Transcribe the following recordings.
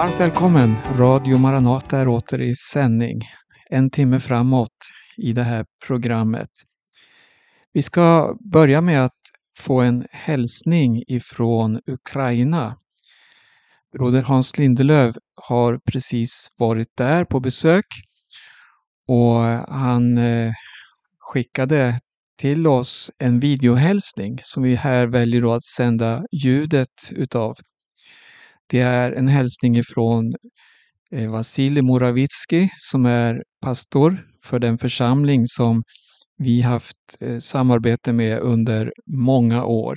Varmt välkommen! Radio Maranata är åter i sändning. En timme framåt i det här programmet. Vi ska börja med att få en hälsning ifrån Ukraina. Broder Hans Lindelöf har precis varit där på besök och han skickade till oss en videohälsning som vi här väljer då att sända ljudet utav. Det är en hälsning ifrån Vasilij Moravitsky som är pastor för den församling som vi haft samarbete med under många år.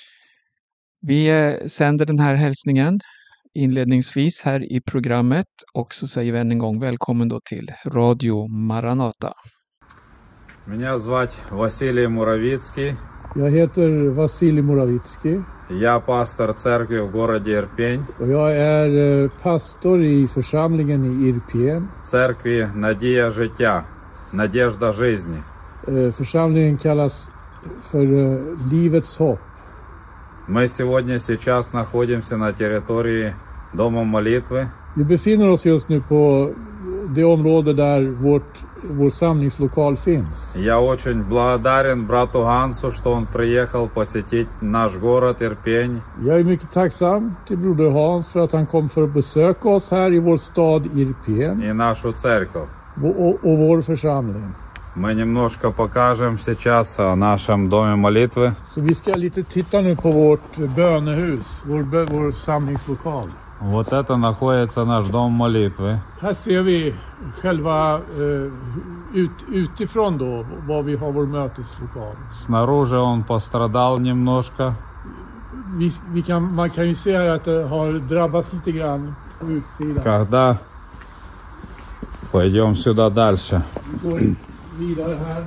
Vi sänder den här hälsningen inledningsvis här i programmet och så säger vi än en gång välkommen då till Radio Maranata. Меня звать Василий Муравицкий. Jag heter Vasilij Moravitsky. Я пастор церкви в городе Ирпень. Och jag är pastor i församlingen i Irpien. Церкви Надія життя, Надежда жизни. Församlingen kallas för Livets hopp. Мы сейчас находимся на территории Дома молитвы. Vi befinner oss just nu på det område där vår samlingslokal finns. Я очень благодарен брату Гансу, что он приехал посетить наш город Ирпень. Jag är mycket tacksam till broder Hans för att han kom för att besöka oss här i vår stad Irpien. И нашу церковь. Och vår församling. Мы немножко покажем сейчас о нашем доме молитвы. Så vi ska lite titta nu på vårt bönehus, vår samlingslokal. Вот это находится наш дом молитвы. Här ser vi själva utifrån då var vi har vår möteslokal. Снаружи он пострадал немножко. Man kan ju se här att det har drabbats lite grann på utsidan. Когда пойдем сюда дальше. Vi går vidare här.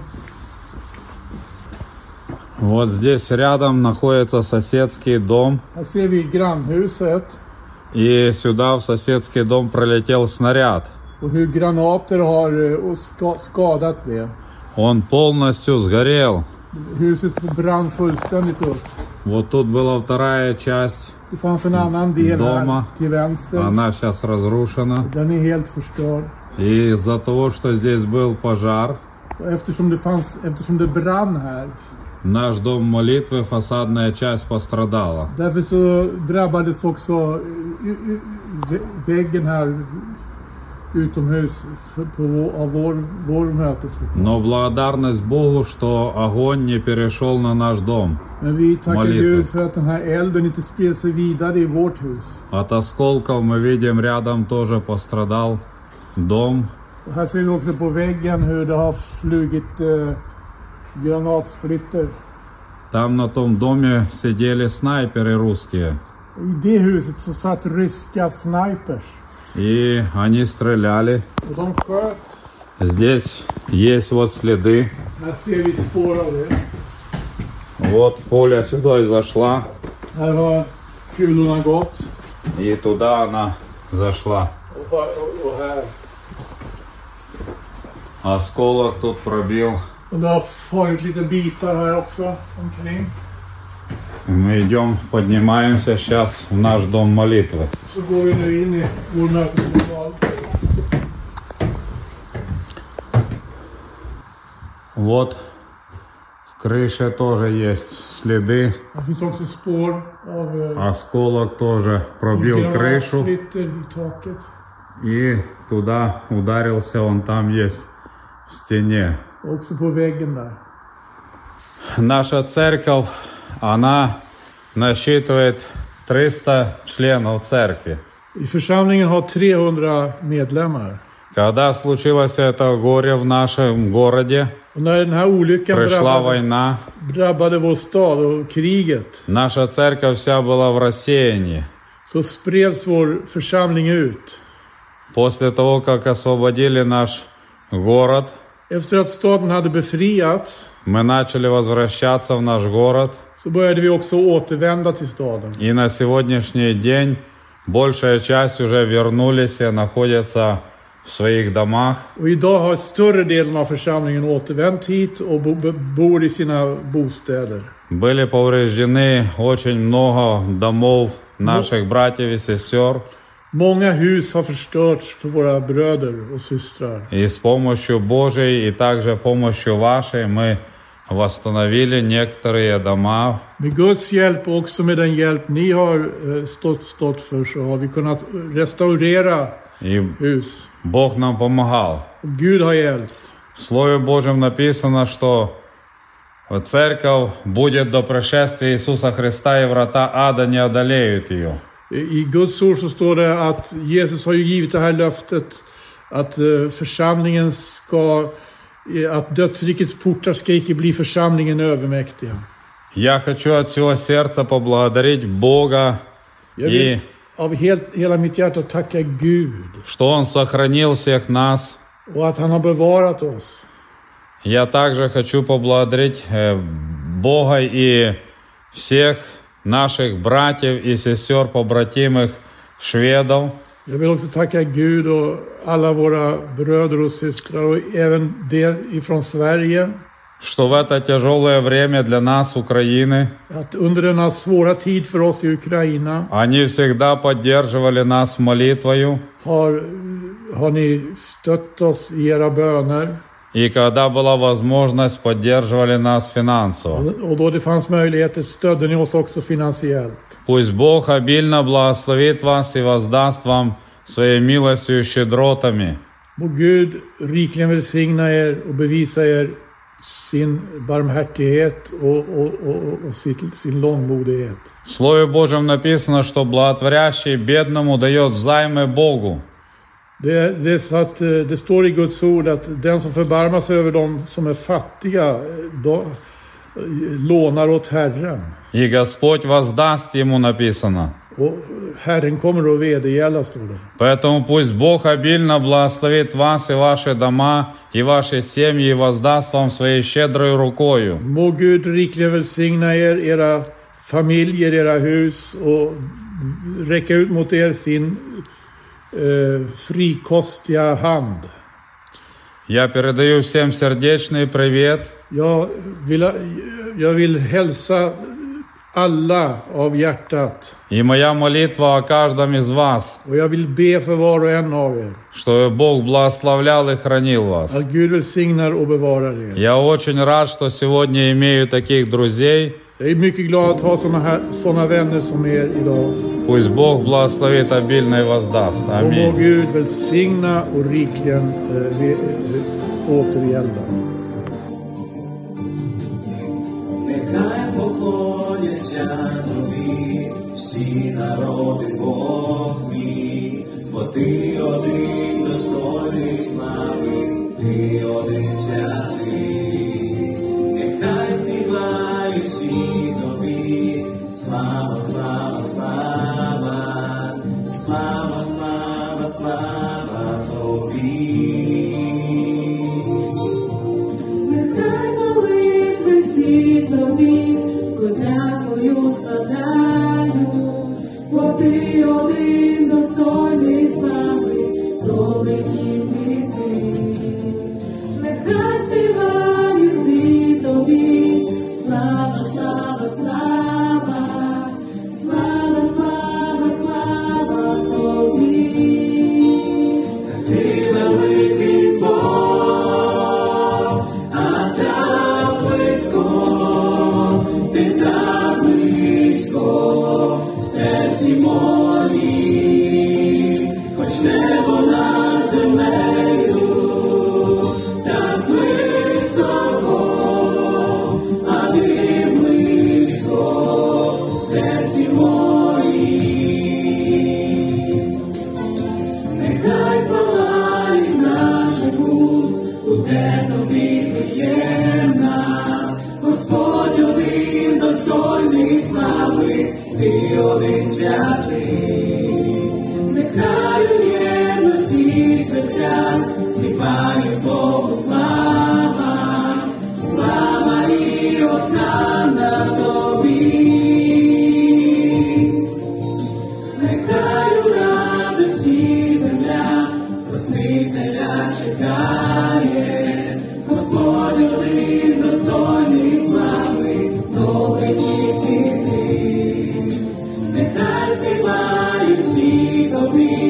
Вот здесь рядом находится соседский дом. Här ser vi grannhuset. И сюда в соседский дом пролетел снаряд. Och hur granater har skadat det. Он полностью сгорел. Huset brann fullständigt upp. Вот тут была вторая часть Det fanns en annan del дома. här till vänster. Она сейчас разрушена. Den är helt förstörd. И из-за того, что здесь был пожар, Eftersom det brann här. наш дом молитвы, фасадная часть пострадала. Därför så drabbades också väggen här utomhus av vår möteslokal. Но благодарность Богу, что огонь не перешел на наш дом. Men vi tackar Молитва. Gud för att den här elden inte spred sig vidare i vårt hus. От осколков мы видим рядом тоже пострадал дом. Och här ser vi också på väggen hur det har flugit granatsplitter. Там на том доме сидели снайперы русские. Och i det huset så satt ryska snipers. И они стреляли. Och de sköt. Здесь есть вот следы. Här ser vi spår av det. Вот пуля сюда и зашла. Här har kulorna gått. И туда она зашла. Och här. Осколок тут пробил. Och det har farit lite bitar här också omkring. Мы идем, поднимаемся сейчас в наш дом молитвы. Så går vi nu in i vår möteslokal. Вот в крыше тоже есть следы. Det finns också spår av Осколок тоже пробил крышу. granatsplitter i taket. И туда ударился, он там есть в стене. Också på väggen där. Наша церковь, она насчитывает 300 членов церкви. I församlingen har 300 medlemmar. Когда случилось это горе в нашем городе, Och när den här olyckan пришла война, drabbade vår stad och kriget, наша церковь вся была в рассеянии. så spreds vår församling ut. После того, как освободили наш город, Efter att staden hade befriats мы начали возвращаться в наш город. så började vi också återvända till staden. И на сегодняшний день большая часть уже вернулись и находятся в своих домах. Och idag har större delen av församlingen återvänt hit och bor i sina bostäder. Были повреждены очень много домов наших братьев и сестер. Många hus har förstörts för våra bröder och systrar. И с помощью Божией и также помощью вашей мы восстановили некоторые дома. Med Guds hjälp och också med den hjälp ni har stått för så har vi kunnat restaurera hus. Бог нам помогал. Och Gud har hjälpt. В Слове Божьем написано, что церковь будет до пришествия Иисуса Христа, и врата ада не одолеют ее. I Guds ord så står det att Jesus har ju givit det här löftet att församlingen att dödsrikets portar ska icke bli församlingen övermäktiga. Я хочу от всего сердца поблагодарить Бога и av hela mitt hjärta tacka Gud. Что Он сохранил всех нас. Och att han har bevarat oss. Я также хочу поблагодарить Бога и всех наших братьев и сестер, побратимых шведов. Jag vill också tacka Gud och alla våra bröder och systrar och även det ifrån Sverige. Что в это тяжелое время для нас, Украины, att under denna svåra tid för oss i Ukraina, они всегда поддерживали нас молитвою. Har ni stött oss i era böner? И когда была возможность, поддерживали нас финансово. Och då det fanns möjligheter stödde ni oss också finansiellt. Пусть Бог обильно благословит вас и воздаст вам своей милостью и щедротами. Må Gud rikligen välsigna er och bevisa er sin barmhärtighet och sin långmodighet. В Слове Божьем написано, что благотворящий бедному дает взаймы Богу. Det är så att det står i Guds ord att den som förbarmar sig över dem som är fattiga lånar åt Herren. И Господь воздаст ему, написано. Och Herren kommer att vedergälla, står det. Поэтому пусть Бог обильно благословит вас и ваши дома, и ваши семьи, и воздаст вам своей щедрой рукою. Må Gud rikligen välsigna er, era familjer, era hus och räcka ut mot er sin frikostiga hand. Я передаю всем сердечный привет. Jag vill hälsa alla av hjärtat. И моя молитва о каждом из вас. Och jag vill be för var och en av er. Что Бог благословлял и хранил вас. Att Gud välsignar och bevarar er. Я очень рад, что сегодня имею таких друзей. Jag är mycket glad att ha såna vänner som er idag. Пусть Бог благословит обильно и воздаст. Аминь. Och må Gud välsigna och rikligen återgälda. Нехай поклоняться тобі всі народи, Бог мій, бо ти один достойний слави, ти один святий. Нехай співають всі тобі, слава, слава, слава, слава, слава, слава тобі. Всі тобі, подякую складаю, бо ти один достойний слави, добрий тільки ти. Нехай співають всі тобі, слава, слава, слава, слава, слава, слава тобі. Ти великий Бог, а так близько, ти так близько в серці моїм, хоч небо над землею, так високо, а ти близько в серці моїм. Нехай палає з наших уст, буде тобі приємна, Господь один достойний слави, ти один святий. Нехай у єдності в серцях співає Богу слава, слава і осанна тобі. Нехай у радості земля Спасителя чекає, Господь один достойний слави, добрий тільки ти. Нехай співають всі тобі,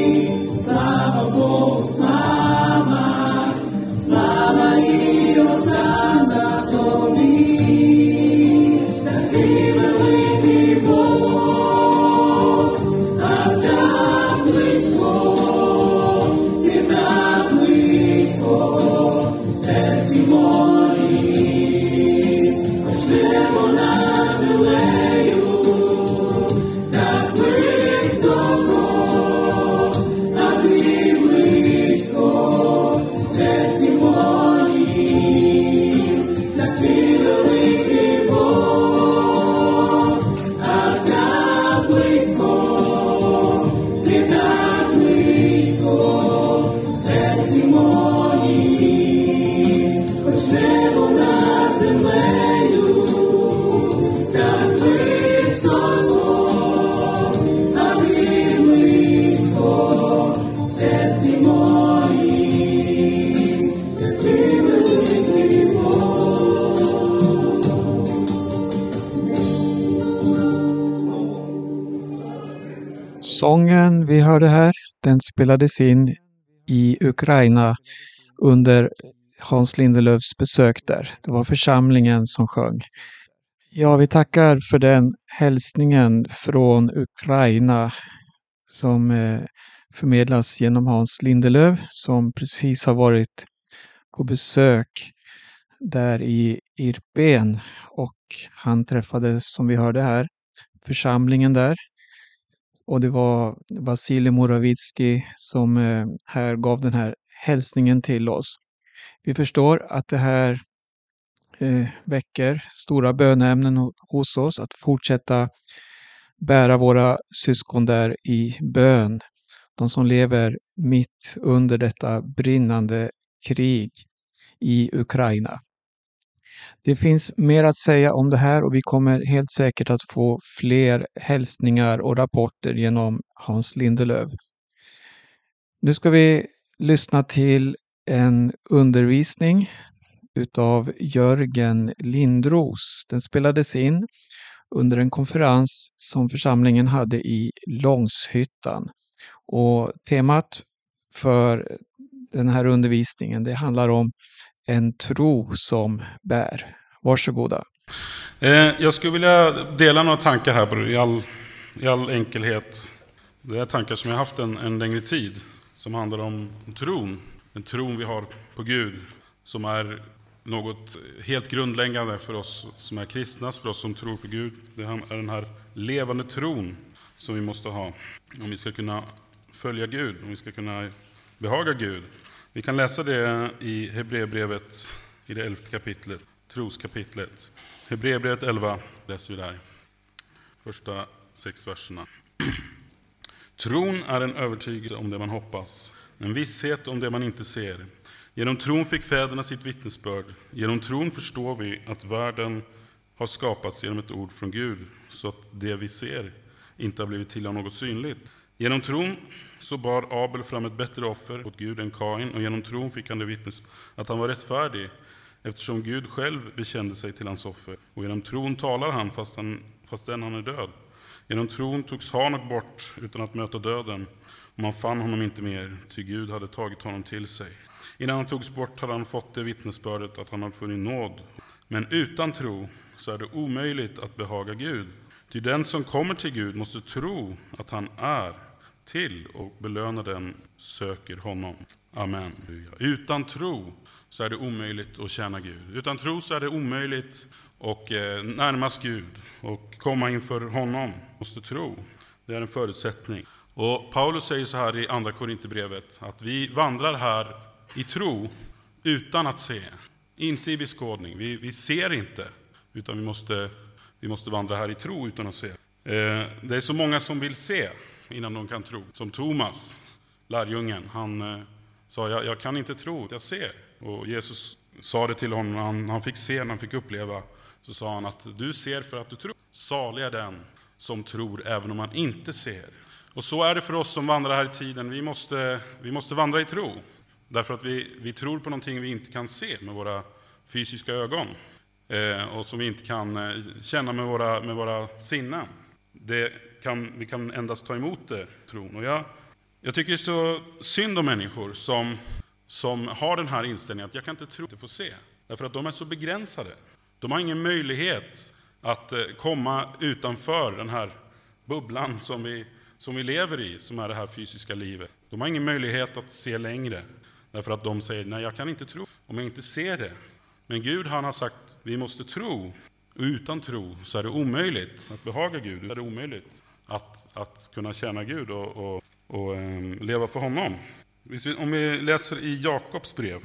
Sången vi hörde här, den spelades in i Ukraina under Hans Lindelöfs besök där. Det var församlingen som sjöng. Ja, vi tackar för den hälsningen från Ukraina som förmedlas genom Hans Lindelöf som precis har varit på besök där i Irpen och han träffade, som vi hörde här, församlingen där. Och det var Vasilij Moravitsky som här gav den här hälsningen till oss. Vi förstår att det här väcker stora böneämnen hos oss att fortsätta bära våra syskon där i bön. De som lever mitt under detta brinnande krig i Ukraina. Det finns mer att säga om det här och vi kommer helt säkert att få fler hälsningar och rapporter genom Hans Lindelöf. Nu ska vi lyssna till en undervisning utav Jörgen Lindros. Den spelades in under en konferens som församlingen hade i Långshyttan. Och temat för den här undervisningen, det handlar om en tro som bär. Varsågoda. Jag skulle vilja dela några tankar här i all enkelhet. Det är tankar som jag har haft en längre tid som handlar om tron. Den tron vi har på Gud som är något helt grundläggande för oss som är kristna, för oss som tror på Gud. Det är den här levande tron som vi måste ha om vi ska kunna följa Gud, om vi ska kunna behaga Gud. Vi kan läsa det i Hebreerbrevet i det 11:e kapitlet, troskapitlet. Hebreerbrevet 11 läser vi där. Första 6 verserna. Tron är en övertygelse om det man hoppas, en visshet om det man inte ser. Genom tron fick fäderna sitt vittnesbörd. Genom tron förstår vi att världen har skapats genom ett ord från Gud, så att det vi ser inte har blivit till av något synligt. Genom tron så bar Abel fram ett bättre offer åt Gud än Kain, och genom tron fick han det vittnesbörd att han var rättfärdig, eftersom Gud själv bekände sig till hans offer. Och genom tron talar han fastän han är död. Genom tron togs Hanok bort utan att möta döden, och man fann honom inte mer, ty Gud hade tagit honom till sig. Innan han togs bort hade han fått det vittnesbördet att han hade funnit nåd. Men utan tro så är det omöjligt att behaga Gud. Ty den som kommer till Gud måste tro att han är till och belöna den söker honom. Amen. Utan tro så är det omöjligt att tjäna Gud. Utan tro så är det omöjligt att närmas Gud och komma inför honom. Måste tro. Det är en förutsättning. Och Paulus säger så här i andra Korinthierbrevet att vi vandrar här i tro utan att se. Inte i beskådning. Vi ser inte, utan vi måste vandra här i tro utan att se. Det är så många som vill se innan de kan tro. Som Thomas, lärjungen, han sa jag kan inte tro, jag ser. Och Jesus sa det till honom, han fick se, han fick uppleva. Så sa han att du ser för att du tror. Salig är den som tror även om man inte ser. Och så är det för oss som vandrar här i tiden. Vi måste vandra i tro. Därför att vi tror på någonting vi inte kan se med våra fysiska ögon. Och som vi inte kan känna med våra sinnen. Vi kan endast ta emot det, tron. Och jag tycker det är så synd om människor som har den här inställningen att jag kan inte tro att jag får se. Därför att de är så begränsade. De har ingen möjlighet att komma utanför den här bubblan som vi lever i, som är det här fysiska livet. De har ingen möjlighet att se längre. Därför att de säger, nej jag kan inte tro om jag inte ser det. Men Gud han har sagt, vi måste tro Och utan tro så är det omöjligt att behaga Gud. Det är omöjligt att kunna tjäna Gud och leva för honom. Om vi läser i Jakobs brev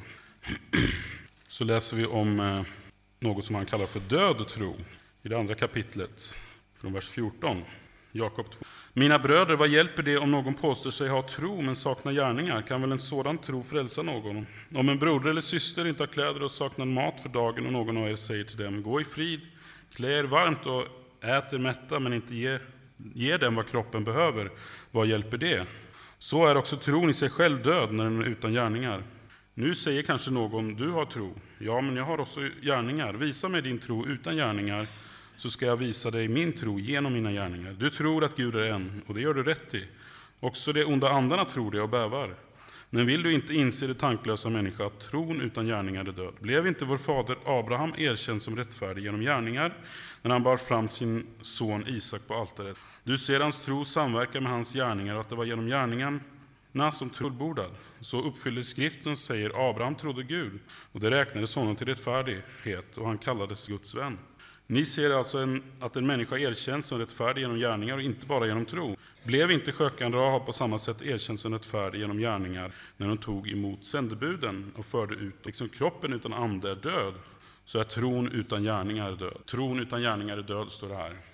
så läser vi om något som han kallar för död tro. I det andra kapitlet, från vers 14. Jakob 2. Mina bröder, vad hjälper det om någon påstår sig ha tro men saknar gärningar? Kan väl en sådan tro frälsa någon? Om en broder eller syster inte har kläder och saknar mat för dagen och någon av er säger till dem, gå i frid, klä er varmt och ät er mätta men inte ge dem vad kroppen behöver, vad hjälper det? Så är också tron i sig själv död när den är utan gärningar. Nu säger kanske någon, du har tro. Ja, men jag har också gärningar. Visa mig din tro utan gärningar, så ska jag visa dig min tro genom mina gärningar. Du tror att Gud är en, och det gör du rätt i. Också de onda andarna tror det och bävar. Men vill du inte inse det tanklösa människa att tron utan gärningar är död? Blev inte vår fader Abraham erkänd som rättfärdig genom gärningar när han bar fram sin son Isak på altaret? Du ser hans tro samverka med hans gärningar och att det var genom gärningarna som fullbordad. Så uppfylldes skriften som säger Abraham trodde Gud och det räknades honom till rättfärdighet och han kallades Guds vän. Ni ser alltså att en människa erkänns som rättfärdig genom gärningar och inte bara genom tro. Blev inte skökan Rahab på samma sätt erkänd som rättfärdig genom gärningar när hon tog emot sändebuden och förde ut, liksom kroppen utan ande är död, så är tron utan gärningar död. Tron utan gärningar är död, står det här.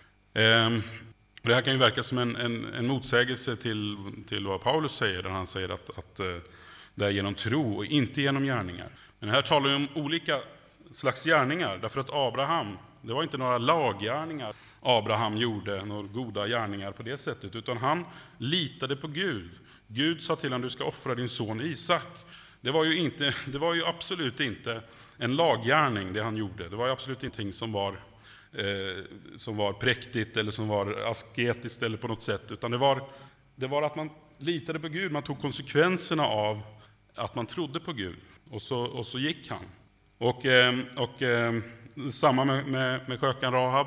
Det här kan ju verka som en motsägelse till vad Paulus säger, där han säger att det är genom tro och inte genom gärningar. Men här talar vi om olika slags gärningar, därför att Abraham, det var inte några laggärningar Abraham gjorde, några goda gärningar på det sättet, utan han litade på Gud. Gud sa till honom, du ska offra din son Isak. Det var ju absolut inte en laggärning det han gjorde. Det var ju absolut ingenting som var präktigt eller som var asketiskt eller på något sätt, utan det var att man litade på Gud. Man tog konsekvenserna av att man trodde på Gud, och så gick han. Och samma med skökan Rahab,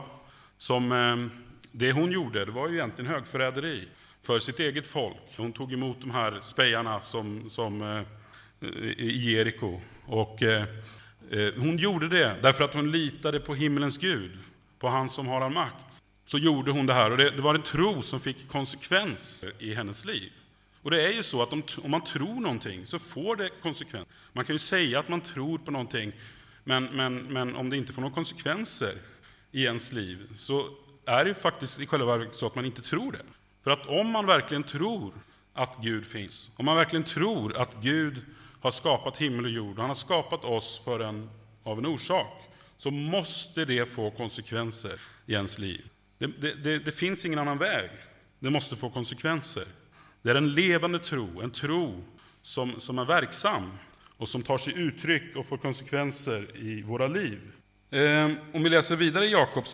som det hon gjorde, det var ju egentligen högförräderi för sitt eget folk. Hon tog emot de här spejarna som i Jeriko, och hon gjorde det därför att hon litade på himmelens Gud, på han som har all makt. Så gjorde hon det här, och det var en tro som fick konsekvenser i hennes liv. Och det är ju så att om man tror någonting så får det konsekvenser. Man kan ju säga att man tror på någonting, men om det inte får några konsekvenser i ens liv, så är det ju faktiskt i själva verket så att man inte tror det. För att om man verkligen tror att Gud finns, om man verkligen tror att Gud har skapat himmel och jord, och han har skapat oss av en orsak, så måste det få konsekvenser i ens liv. Det finns ingen annan väg. Det måste få konsekvenser. Det är en levande tro, en tro som är verksam och som tar sig uttryck och får konsekvenser i våra liv. Om vi läser vidare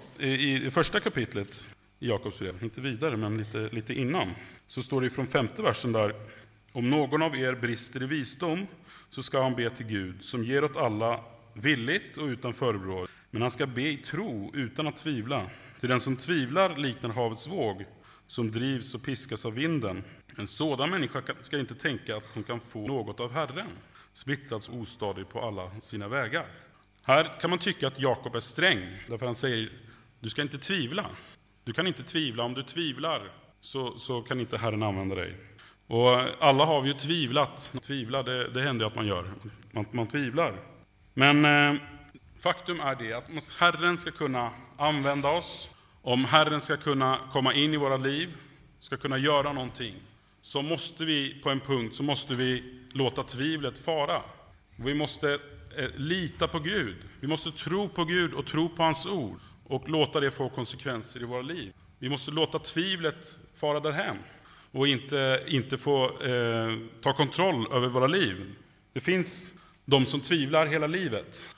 i första kapitlet i Jakobs brev, inte vidare men lite innan, så står det från 5:e versen där: om någon av er brister i visdom, så ska han be till Gud, som ger åt alla villigt och utan förebråelse. Men han ska be i tro utan att tvivla. Till den som tvivlar liknar havets våg, som drivs och piskas av vinden. En sådan människa ska inte tänka att hon kan få något av Herren, splittrats ostadig på alla sina vägar. Här kan man tycka att Jakob är sträng, därför han säger, du ska inte tvivla. Du kan inte tvivla. Om du tvivlar så kan inte Herren använda dig. Och alla har vi ju tvivlat. Tvivla, det händer att man gör. Man tvivlar. Men faktum är det att om Herren ska kunna använda oss, om Herren ska kunna komma in i våra liv, ska kunna göra någonting, så måste vi på en punkt så måste vi låta tvivlet fara. Vi måste lita på Gud. Vi måste tro på Gud och tro på hans ord och låta det få konsekvenser i våra liv. Vi måste låta tvivlet fara därhän och inte få ta kontroll över våra liv. Det finns de som tvivlar hela livet,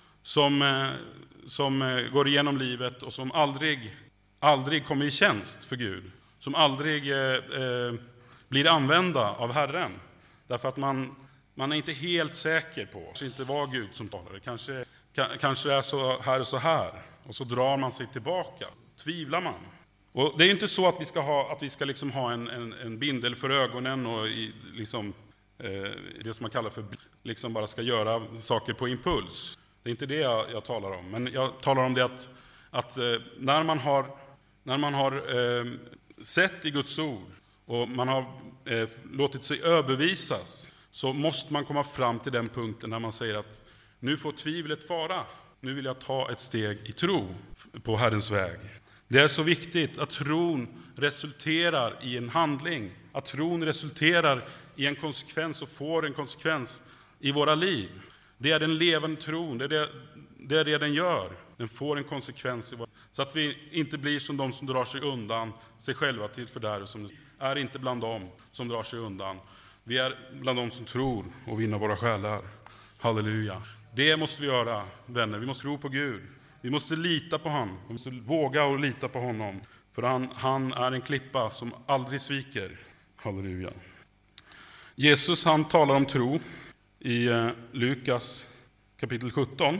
som går igenom livet och som aldrig kommer i tjänst för Gud, som aldrig blir använda av Herren, därför att man är inte helt säker på att det inte var Gud som talade. Kanske är så här, och så drar man sig tillbaka, tvivlar man. Och det är inte så att vi ska liksom ha en bindel för ögonen och det som man kallar för bara ska göra saker på impuls. Det är inte det jag talar om, men jag talar om det att när man har sett i Guds ord och man har låtit sig överbevisas, så måste man komma fram till den punkten när man säger att nu får tvivlet fara. Nu vill jag ta ett steg i tro på Herrens väg. Det är så viktigt att tron resulterar i en handling. Att tron resulterar i en konsekvens och får en konsekvens i våra liv. Det är den levande tron, det är det den gör. Den får en konsekvens i våra liv. Så att vi inte blir som de som drar sig undan sig själva till fördärv. Som är inte bland dem som drar sig undan. Vi är bland dem som tror och vinner våra själar. Halleluja. Det måste vi göra, vänner. Vi måste tro på Gud. Vi måste lita på honom. Vi måste våga och lita på honom. För han är en klippa som aldrig sviker. Halleluja. Jesus, han talar om tro i Lukas kapitel 17.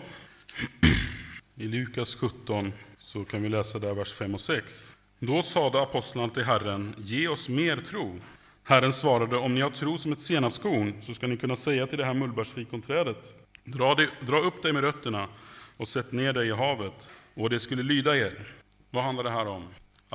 I Lukas 17 så kan vi läsa där vers 5 och 6. Då sade apostlarna till Herren: ge oss mer tro. Herren svarade: om ni har tro som ett senapskorn, så ska ni kunna säga till det här mullbärsfikonträdet: dra upp dig med rötterna och sätt ner dig i havet, och det skulle lyda er. Vad handlar det här om?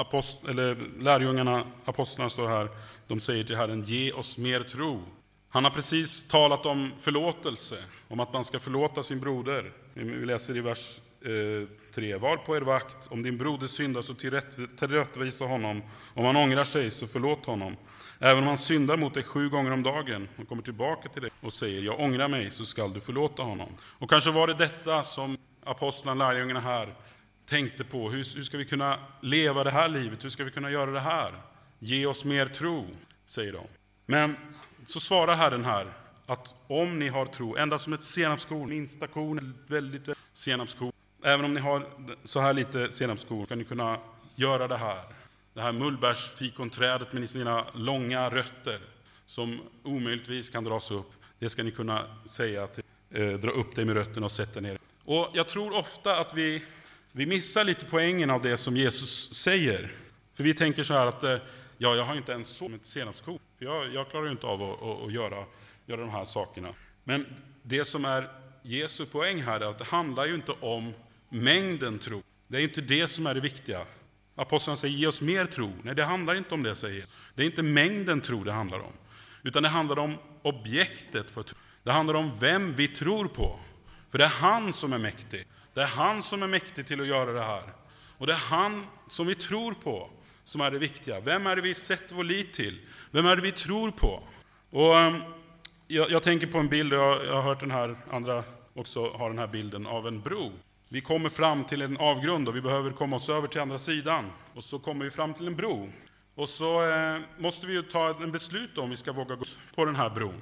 Lärjungarna, apostlarna står här, de säger till Herren: ge oss mer tro. Han har precis talat om förlåtelse, om att man ska förlåta sin broder. Vi läser i vers 3. Var på er vakt, om din broder syndar så tillrättavisa honom. Om han ångrar sig så förlåt honom. Även om han syndar mot dig 7 gånger om dagen och kommer tillbaka till dig och säger: jag ångrar mig, så skall du förlåta honom. Och kanske var det detta som apostlarna, lärjungarna här tänkte på. Hur ska vi kunna leva det här livet? Hur ska vi kunna göra det här? Ge oss mer tro, säger de. Men så svarar Herren här att om ni har tro, ända som ett senapskorn, minsta korn, väldigt senapskorn, även om ni har så här lite senapskorn, kan ni kunna göra det här. Det här mullbärsfikonträdet med sina långa rötter som omöjligtvis kan dras upp. Det ska ni kunna säga till, dra upp dig med rötterna och sätta ner. Och jag tror ofta att vi missar lite poängen av det som Jesus säger. För vi tänker så här att jag har inte ens så med ett senapskorn. Jag klarar ju inte av att göra de här sakerna. Men det som är Jesu poäng här är att det handlar ju inte om mängden tro. Det är inte det som är det viktiga. Apostlarna säger: ge oss mer tro. Nej, det handlar inte om det, säger. Det är inte mängden tro det handlar om. Utan det handlar om objektet för tro. Det handlar om vem vi tror på. För det är han som är mäktig. Det är han som är mäktig till att göra det här. Och det är han som vi tror på som är det viktiga. Vem är det vi sätter vår lit till? Vem är det vi tror på? Och jag tänker på en bild, jag har hört den här, andra också har den här bilden av en bro. Vi kommer fram till en avgrund och vi behöver komma oss över till andra sidan. Och så kommer vi fram till en bro. Och så måste vi ju ta en beslut om vi ska våga gå på den här bron.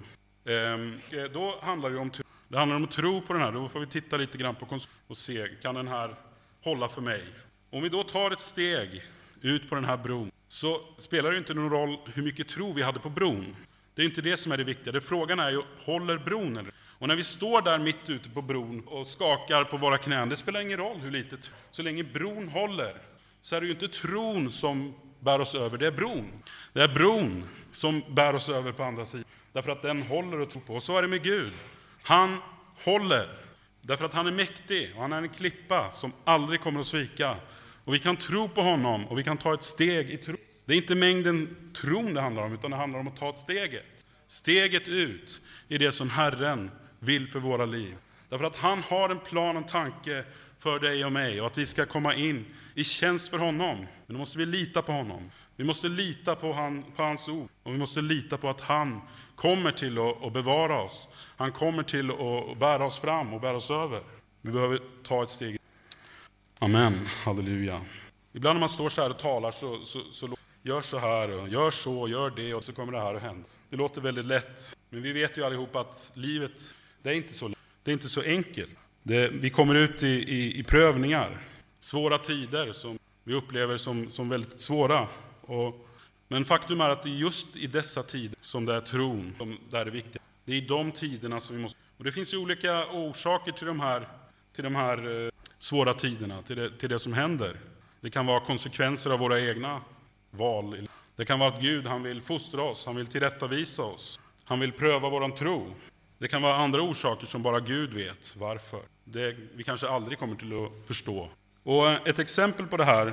Då handlar det om tro. Det handlar om att tro på den här. Då får vi titta lite grann på och se, kan den här hålla för mig? Om vi då tar ett steg ut på den här bron, så spelar det inte någon roll hur mycket tro vi hade på bron. Det är inte det som är det viktiga. Frågan är ju, håller bron eller? Och när vi står där mitt ute på bron och skakar på våra knän, det spelar ingen roll hur litet. Så länge bron håller, så är det ju inte tron som bär oss över, det är bron. Det är bron som bär oss över på andra sidan. Därför att den håller att tro på. Och så är det med Gud. Han håller. Därför att han är mäktig och han är en klippa som aldrig kommer att svika. Och vi kan tro på honom och vi kan ta ett steg i tro. Det är inte mängden tron det handlar om, utan det handlar om att ta ett steget. Steget ut i det som Herren vill för våra liv. Därför att han har en plan, en tanke för dig och mig. Och att vi ska komma in i tjänst för honom. Men då måste vi lita på honom. Vi måste lita på hans ord. Och vi måste lita på att han kommer till att bevara oss. Han kommer till att bära oss fram och bära oss över. Vi behöver ta ett steg. Amen, halleluja. Ibland när man står så här och talar så gör så här och gör så, gör det och så kommer det här att hända. Det låter väldigt lätt, men vi vet ju allihop att livet, det är inte så enkelt. Vi kommer ut i prövningar, svåra tider som vi upplever som väldigt svåra. Men faktum är att det är just i dessa tider som det är tron som det är viktigt. Det är i de tiderna som vi måste. Och det finns ju olika orsaker till de här svåra tiderna, till det som händer. Det kan vara konsekvenser av våra egna val. Det kan vara att Gud, han vill fostra oss, han vill tillrättavisa oss. Han vill pröva våran tro. Det kan vara andra orsaker som bara Gud vet varför. Vi kanske aldrig kommer till att förstå. Och ett exempel på det här,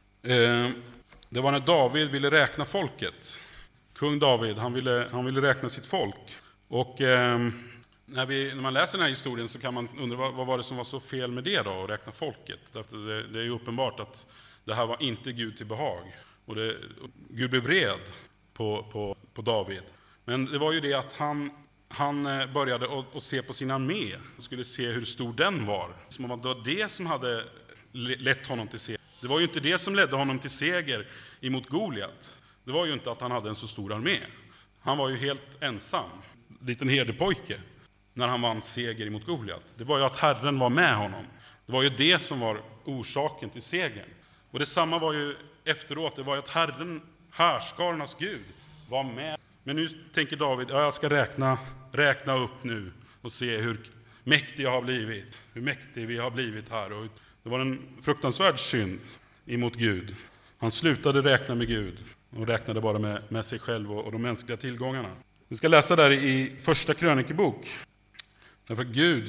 det var när David ville räkna folket. Kung David, han ville räkna sitt folk. Och när man läser den här historien så kan man undra vad var det som var så fel med det då, att räkna folket. Därför det är ju uppenbart att det här var inte Gud till behag. Och Gud blev vred på David. Men det var ju det att han började att se på sin armé. Han skulle se hur stor den var. Som om det var det som hade lett honom till seger. Det var ju inte det som ledde honom till seger emot Goliat. Det var ju inte att han hade en så stor armé. Han var ju helt ensam, liten herdepojke, när han vann seger emot Goliat. Det var ju att Herren var med honom. Det var ju det som var orsaken till segern. Och detsamma var ju efteråt. Det var ju att Herren, härskarnas Gud, var med. Men nu tänker David, jag ska räkna upp nu och se hur mäktig jag har blivit. Hur mäktig vi har blivit här. Och det var en fruktansvärd synd emot Gud. Han slutade räkna med Gud och räknade bara med sig själv och de mänskliga tillgångarna. Vi ska läsa där i första krönikebok. Därför att Gud,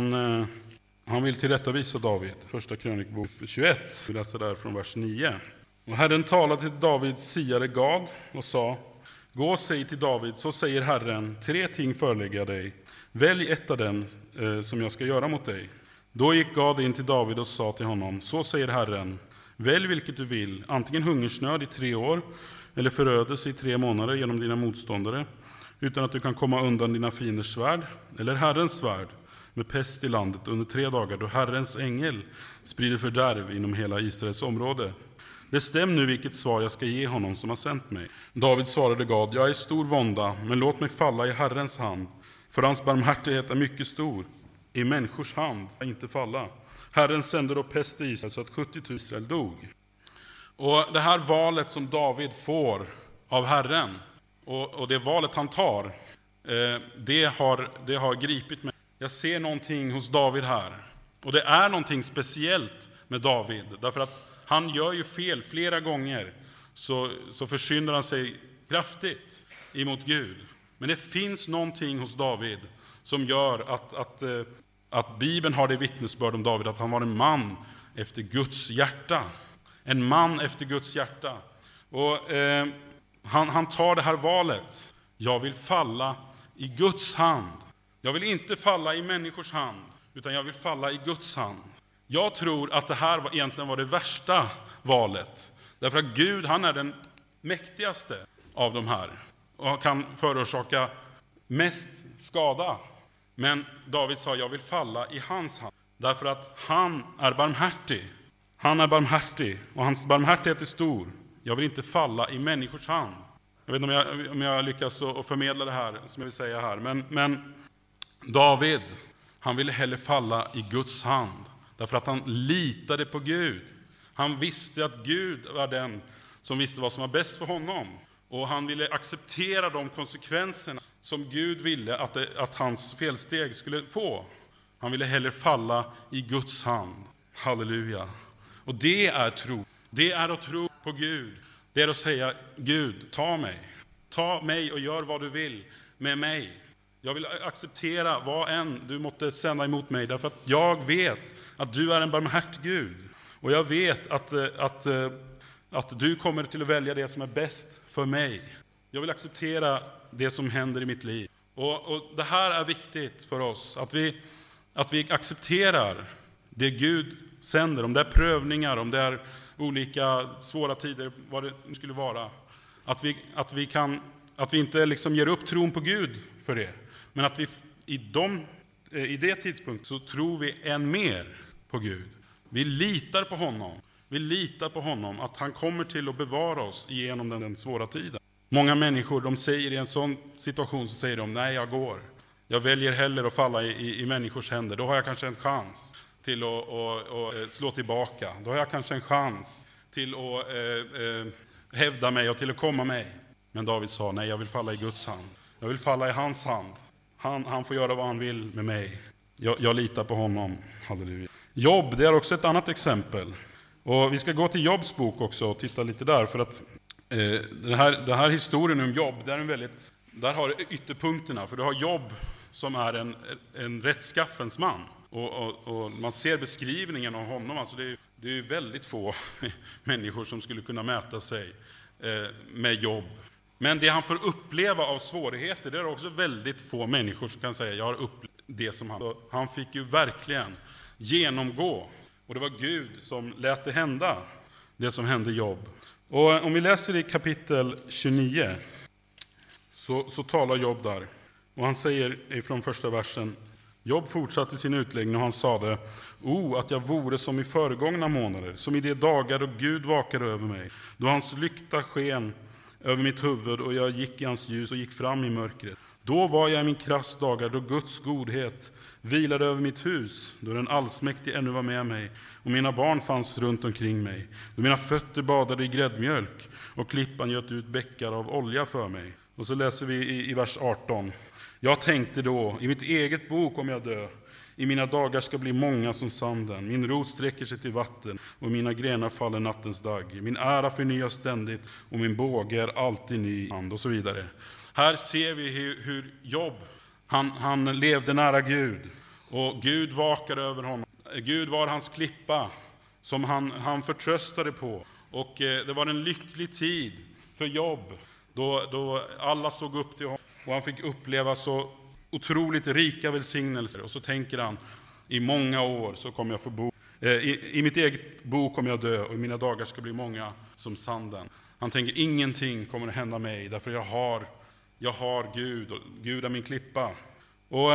han vill tillrättavisa David. Första krönikebok 21. Vi läser där från vers 9. Och Herren talade till Davids siare Gad och sa: gå och säg till David, så säger Herren, 3 ting förelägger dig. Välj ett av dem som jag ska göra mot dig. Då gick Gad in till David och sa till honom: så säger Herren, välj vilket du vill, antingen hungersnöd i 3 år eller förödelse i 3 månader genom dina motståndare, utan att du kan komma undan dina fienders svärd, eller Herrens svärd med pest i landet under 3 dagar, då Herrens ängel sprider fördärv inom hela Israels område. Bestäm nu vilket svar jag ska ge honom som har sänt mig. David svarade Gad: jag är stor vånda, men låt mig falla i Herrens hand, för hans barmhärtighet är mycket stor. I människors hand inte falla. Herren sände då pest i Israel så att 70 000 Israel dog. Och det här valet som David får av Herren, och det valet han tar, det har gripit mig. Jag ser någonting hos David här. Och det är någonting speciellt med David. Därför att han gör ju fel flera gånger. Så försyndar han sig kraftigt emot Gud. Men det finns någonting hos David som gör att Bibeln har det vittnesbörd om David, att han var en man efter Guds hjärta. En man efter Guds hjärta. Och han tar det här valet. Jag vill falla i Guds hand. Jag vill inte falla i människors hand, utan jag vill falla i Guds hand. Jag tror att det här egentligen var det värsta valet. Därför att Gud, han är den mäktigaste av de här. Och kan förorsaka mest skada. Men David sa: jag vill falla i hans hand. Därför att han är barmhärtig. Han är barmhärtig och hans barmhärtighet är stor. Jag vill inte falla i människors hand. Jag vet inte om jag lyckas att förmedla det här som jag vill säga här. Men David, han ville hellre falla i Guds hand. Därför att han litade på Gud. Han visste att Gud var den som visste vad som var bäst för honom. Och han ville acceptera de konsekvenserna som Gud ville att hans felsteg skulle få. Han ville hellre falla i Guds hand. Halleluja. Och det är tro. Det är att tro på Gud. Det är att säga: Gud, ta mig. Ta mig och gör vad du vill med mig. Jag vill acceptera vad än du måtte sända emot mig. Därför att jag vet att du är en barmhärtig Gud. Och jag vet att du kommer till att välja det som är bäst för mig. Jag vill acceptera det som händer i mitt liv. Och det här är viktigt för oss. Att vi accepterar det Gud sänder. Om det är prövningar, om det är olika svåra tider, vad det skulle vara. Att vi inte liksom ger upp tron på Gud för det. Men att vi i det tidspunkt så tror vi än mer på Gud. Vi litar på honom. Vi litar på honom att han kommer till att bevara oss genom den svåra tiden. Många människor, de säger i en sån situation, så säger de: nej, jag går. Jag väljer hellre att falla i människors händer. Då har jag kanske en chans till att slå tillbaka. Då har jag kanske en chans till att hävda mig och till att komma mig. Men David sa: nej, jag vill falla i Guds hand. Jag vill falla i hans hand. Han får göra vad han vill med mig. Jag litar på honom. Halleluja. Jobb, det är också ett annat exempel. Och vi ska gå till Jobbs bok också och titta lite där. För att den här historien om Jobb, där har du ytterpunkterna. För du har Jobb som är en rättskaffens man. Och man ser beskrivningen av honom. Alltså det Det är ju väldigt få människor som skulle kunna mäta sig med jobb. Men det han får uppleva av svårigheter, det är också väldigt få människor som kan säga jag har upplevt det som han. Han fick ju verkligen genomgå. Och det var Gud som lät det hända, det som hände Jobb. Och om vi läser i kapitel 29 så talar Jobb där. Och han säger ifrån första versen: Jobb fortsatte sin utläggning och han sade: att jag vore som i föregångna månader, som i de dagar då Gud vakade över mig, då hans lykta sken över mitt huvud och jag gick i hans ljus och gick fram i mörkret. Då var jag i min krass dagar, då Guds godhet vilade över mitt hus, då den allsmäktige ännu var med mig och mina barn fanns runt omkring mig, då mina fötter badade i gräddmjölk och klippan göt ut bäckar av olja för mig. Och så läser vi i vers 18: Jag tänkte då, i mitt eget bo kommer jag dö, i mina dagar ska bli många som sanden, min rot sträcker sig till vatten och mina grenar faller nattens dag, min ära förnyas ständigt och min båge är alltid ny hand, och så vidare. Här ser vi hur Jobb, han levde nära Gud och Gud vakade över honom. Gud var hans klippa som han förtröstade på, och det var en lycklig tid för Jobb då alla såg upp till honom och han fick uppleva så otroligt rika välsignelser. Och så tänker han, i många år så kommer jag få bo, i mitt eget bo kommer jag dö och i mina dagar ska bli många som sanden. Han tänker, ingenting kommer att hända mig därför jag har Gud, och Gud är min klippa. Och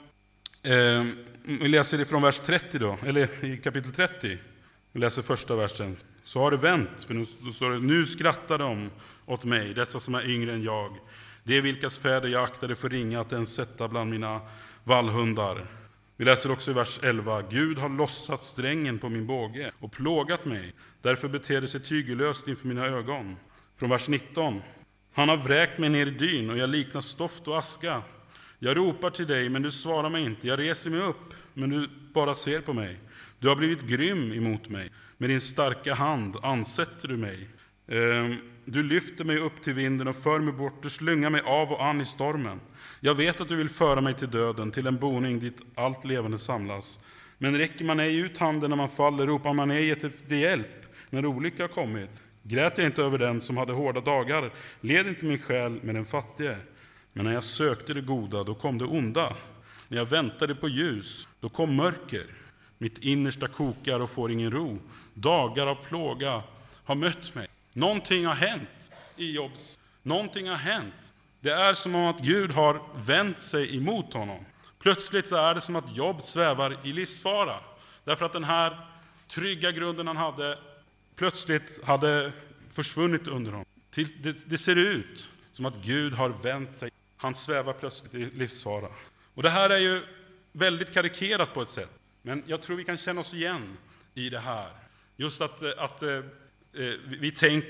vi läser det från vers 30 då, eller i kapitel 30. Vi läser första versen. Så har det vänt, för nu står det: nu skrattar de åt mig, dessa som är yngre än jag. Det är vilkas fäder jag aktade för ringa att ens sätta bland mina vallhundar. Vi läser också i vers 11: Gud har lossat strängen på min båge och plågat mig. Därför beter det sig tygellöst inför mina ögon. Från vers 19: Han har vräkt mig ner i dyn och jag liknar stoft och aska. Jag ropar till dig, men du svarar mig inte. Jag reser mig upp, men du bara ser på mig. Du har blivit grym emot mig. Med din starka hand ansätter du mig. Du lyfter mig upp till vinden och för mig bort. Du slungar mig av och an i stormen. Jag vet att du vill föra mig till döden, till en boning dit allt levande samlas. Men räcker man ej ut handen när man faller, ropar man ej efter hjälp när olycka har kommit. Grät jag inte över den som hade hårda dagar, led inte min själ med den fattige. Men när jag sökte det goda, då kom det onda. När jag väntade på ljus, då kom mörker. Mitt innersta kokar och får ingen ro. Dagar av plåga har mött mig. Någonting har hänt i Jobbs. Någonting har hänt. Det är som om att Gud har vänt sig emot honom. Plötsligt så är det som att Jobb svävar i livsfara. Därför att den här trygga grunden han hade plötsligt hade försvunnit under honom. Det ser ut som att Gud har vänt sig. Han svävar plötsligt i livsfara. Och det här är ju väldigt karikerat på ett sätt. Men jag tror vi kan känna oss igen i det här. Just att vi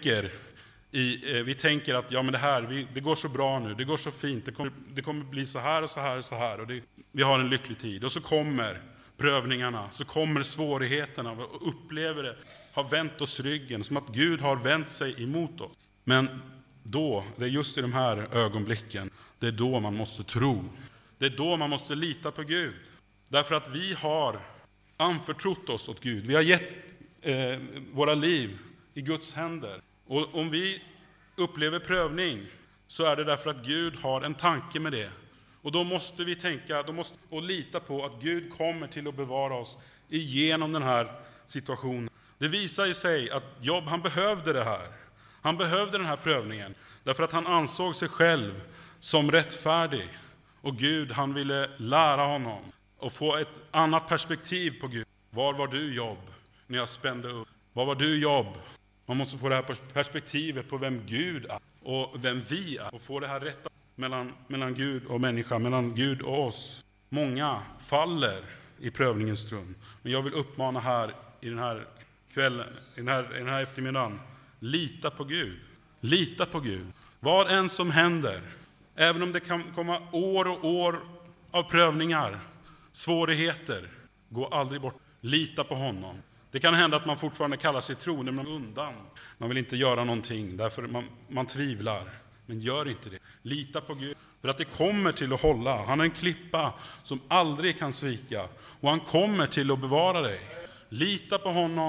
tänker att ja, men det går så bra nu, det går så fint, det kommer bli så här och så här och så här, och vi har en lycklig tid. Och så kommer prövningarna, så kommer svårigheterna, och upplever det, har vänt oss ryggen, som att Gud har vänt sig emot oss. Men då, det är just i de här ögonblicken, det är då man måste tro. Det är då man måste lita på Gud. Därför att vi har anförtrott oss åt Gud. Vi har gett våra liv i Guds händer. Och om vi upplever prövning, så är det därför att Gud har en tanke med det. Och då måste vi tänka och lita på att Gud kommer till att bevara oss igenom den här situationen. Det visar ju sig att Jobb, han behövde det här. Han behövde den här prövningen. Därför att han ansåg sig själv som rättfärdig. Och Gud, han ville lära honom och få ett annat perspektiv på Gud. Var var du, Jobb, när jag spände upp? Var var du, Jobb? Man måste få det här perspektivet på vem Gud är och vem vi är. Och få det här rätta mellan Gud och människa, mellan Gud och oss. Många faller i prövningens stund. Men jag vill uppmana här i den här kvällen, i den här eftermiddagen. Lita på Gud. Lita på Gud. Vad än som händer, även om det kan komma år och år av prövningar, svårigheter, gå aldrig bort. Lita på honom. Det kan hända att man fortfarande kallar sig troende, men undan. Man vill inte göra någonting, därför man tvivlar. Men gör inte det. Lita på Gud, för att det kommer till att hålla. Han är en klippa som aldrig kan svika. Och han kommer till att bevara dig. Lita på honom,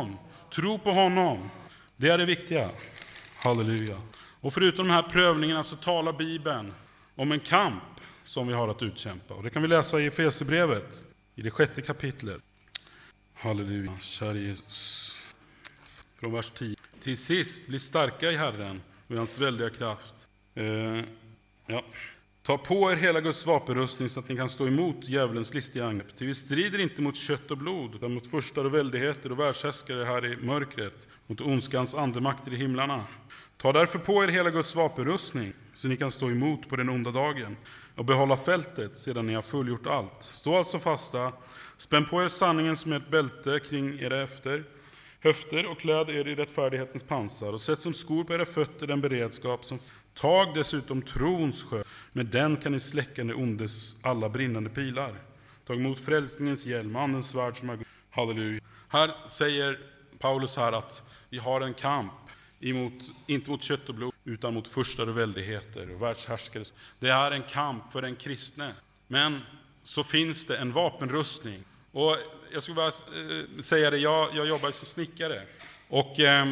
tro på honom. Det är det viktiga. Halleluja. Och förutom de här prövningarna så talar Bibeln om en kamp som vi har att utkämpa. Och det kan vi läsa i Efesierbrevet, i det 6:e kapitlet. Halleluja, kära Jesus. Från vers 10. Till sist, bli starka i Herren och i hans väldiga kraft. Ta på er hela Guds vapenrustning så att ni kan stå emot djävulens listiga angrepp. Till vi strider inte mot kött och blod, utan mot furstar och väldigheter och världshärskare här i mörkret, mot ondskans andemakter i himlarna. Ta därför på er hela Guds vapenrustning så ni kan stå emot på den onda dagen och behålla fältet sedan ni har fullgjort allt. Stå alltså fasta, spänn på er sanningen som ett bälte kring era höfter och kläd er i rättfärdighetens pansar och sätt som skor på era fötter den beredskap som tag dessutom trons sjö. Med den kan ni släcka den ondes alla brinnande pilar. Tag emot frälsningens hjälm, andens svärd som är... Halleluja. Här säger Paulus här att vi har en kamp inte mot kött och blod utan mot furstar och väldigheter och världshärskare. Det är en kamp för den kristne. Men så finns det en vapenrustning. Och jag skulle bara säga det, jag jobbar som snickare. Och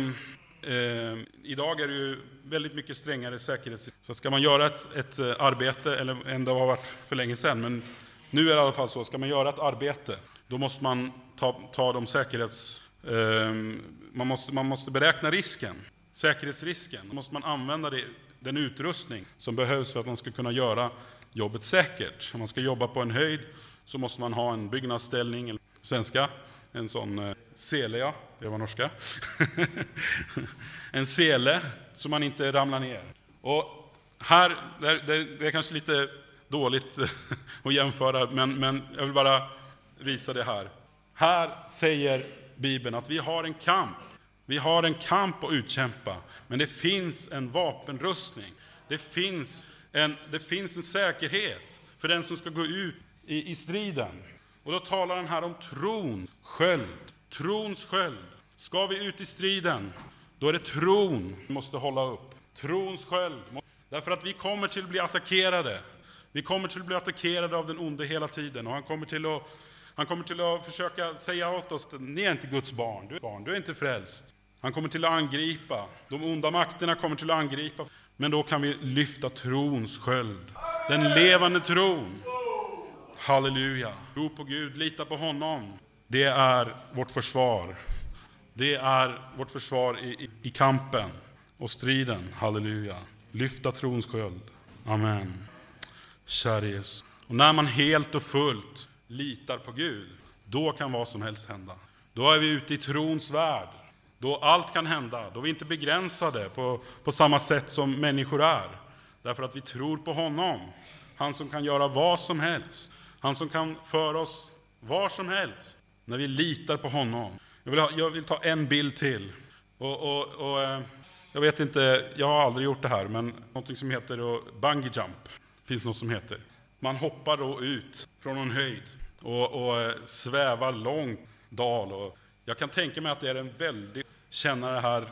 idag är det ju väldigt mycket strängare säkerhet. Så ska man göra ett arbete, eller än det har varit för länge sedan, men nu är det i alla fall så, ska man göra ett arbete, då måste man ta de man måste beräkna risken, säkerhetsrisken. Då måste man använda den utrustning som behövs för att man ska kunna göra jobbet säkert. Om man ska jobba på en höjd så måste man ha en byggnadsställning, eller svenska, en sån sele, ja, det var norska. En sele så man inte ramlar ner. Och här, det är kanske lite dåligt att jämföra, men jag vill bara visa det här. Här säger Bibeln att vi har en kamp. Vi har en kamp att utkämpa, men det finns en vapenrustning. Det finns en säkerhet för den som ska gå ut i striden. Och då talar han här om trons sköld. Ska vi ut i striden, då är det tron vi måste hålla upp. Trons sköld. Därför att vi kommer till att bli attackerade. Vi kommer till att bli attackerade av den onde hela tiden. Och han kommer till att försöka säga åt oss att ni är inte Guds barn. Du är inte frälst. Han kommer till att angripa. De onda makterna kommer till att angripa. Men då kan vi lyfta trons sköld. Den levande tron. Halleluja. Tro på Gud, lita på honom. Det är vårt försvar. Det är vårt försvar i kampen och striden. Halleluja. Lyfta trons sköld. Amen. Kära Jesus. Och när man helt och fullt litar på Gud, då kan vad som helst hända. Då är vi ute i trons värld. Då allt kan hända. Då är vi inte begränsade på samma sätt som människor är. Därför att vi tror på honom. Han som kan göra vad som helst. Han som kan föra oss var som helst. När vi litar på honom. Jag vill ta en bild till. Och jag vet inte, jag har aldrig gjort det här, men något som heter bungee jump. Finns något som heter. Man hoppar då ut från en höjd och svävar långt dal. Och jag kan tänka mig att det är en väldigt... Känna det här,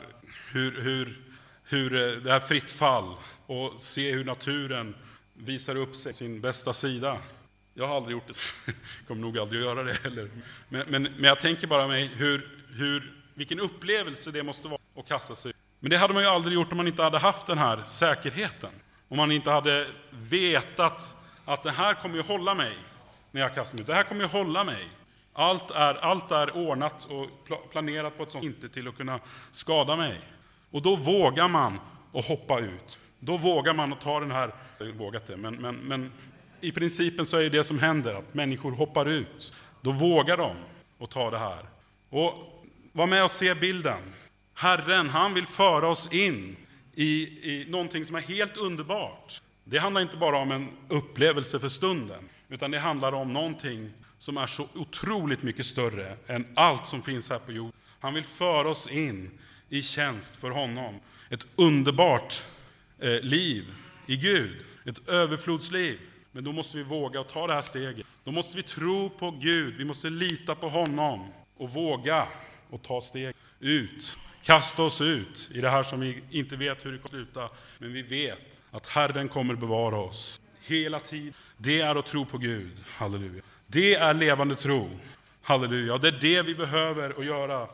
hur det här fritt fall och se hur naturen visar upp sig sin bästa sida. Jag har aldrig gjort det, kommer nog aldrig att göra det heller. Men jag tänker bara mig vilken upplevelse det måste vara att kasta sig. Men det hade man ju aldrig gjort om man inte hade haft den här säkerheten. Om man inte hade vetat att det här kommer ju hålla mig när jag kastar mig ut. Det här kommer ju hålla mig. Allt är ordnat och planerat på ett sånt inte till att kunna skada mig. Och då vågar man att hoppa ut. Då vågar man att ta den här... Jag har vågat det, men i principen så är det som händer att människor hoppar ut. Då vågar de att ta det här. Och var med och se bilden. Herren, han vill föra oss in i någonting som är helt underbart. Det handlar inte bara om en upplevelse för stunden, utan det handlar om någonting som är så otroligt mycket större än allt som finns här på jorden. Han vill föra oss in i tjänst för honom. Ett underbart liv i Gud. Ett överflodsliv. Men då måste vi våga ta det här steget. Då måste vi tro på Gud. Vi måste lita på honom. Och våga och ta steg ut. Kasta oss ut i det här som vi inte vet hur det kommer sluta. Men vi vet att Herren kommer bevara oss hela tiden. Det är att tro på Gud. Halleluja. Det är levande tro. Halleluja. Det är det vi behöver att göra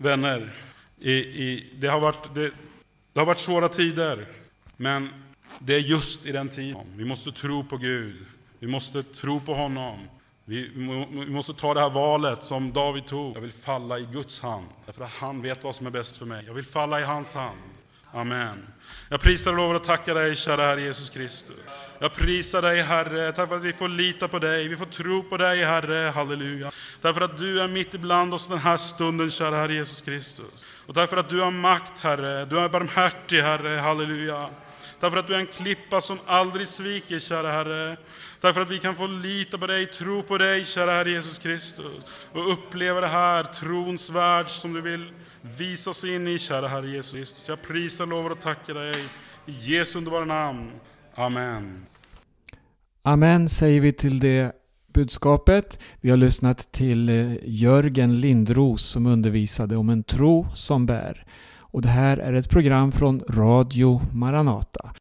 Vänner, det har varit svåra tider, men det är just i den tiden. Vi måste tro på Gud. Vi måste tro på honom. Vi måste ta det här valet som David tog. Jag vill falla i Guds hand, därför att han vet vad som är bäst för mig. Jag vill falla i hans hand. Amen. Jag prisar och lovar och tackar dig, kära Herre Jesus Kristus. Jag prisar dig, Herre, tack för att vi får lita på dig. Vi får tro på dig, Herre. Halleluja. Tack för att du är mitt ibland oss den här stunden, kära Herre Jesus Kristus. Och tack för att du har makt, Herre. Du är barmhärtig, Herre. Halleluja. Tack för att du är en klippa som aldrig sviker, kära Herre. Tack för att vi kan få lita på dig, tro på dig, kära Herre Jesus Kristus. Och uppleva det här trons värld som du vill visa oss in i, kära Herre Jesus Kristus. Jag prisar, lovar och tackar dig i Jesu underbara namn. Amen. Amen säger vi till det budskapet. Vi har lyssnat till Jörgen Lindros som undervisade om en tro som bär. Och det här är ett program från Radio Maranata.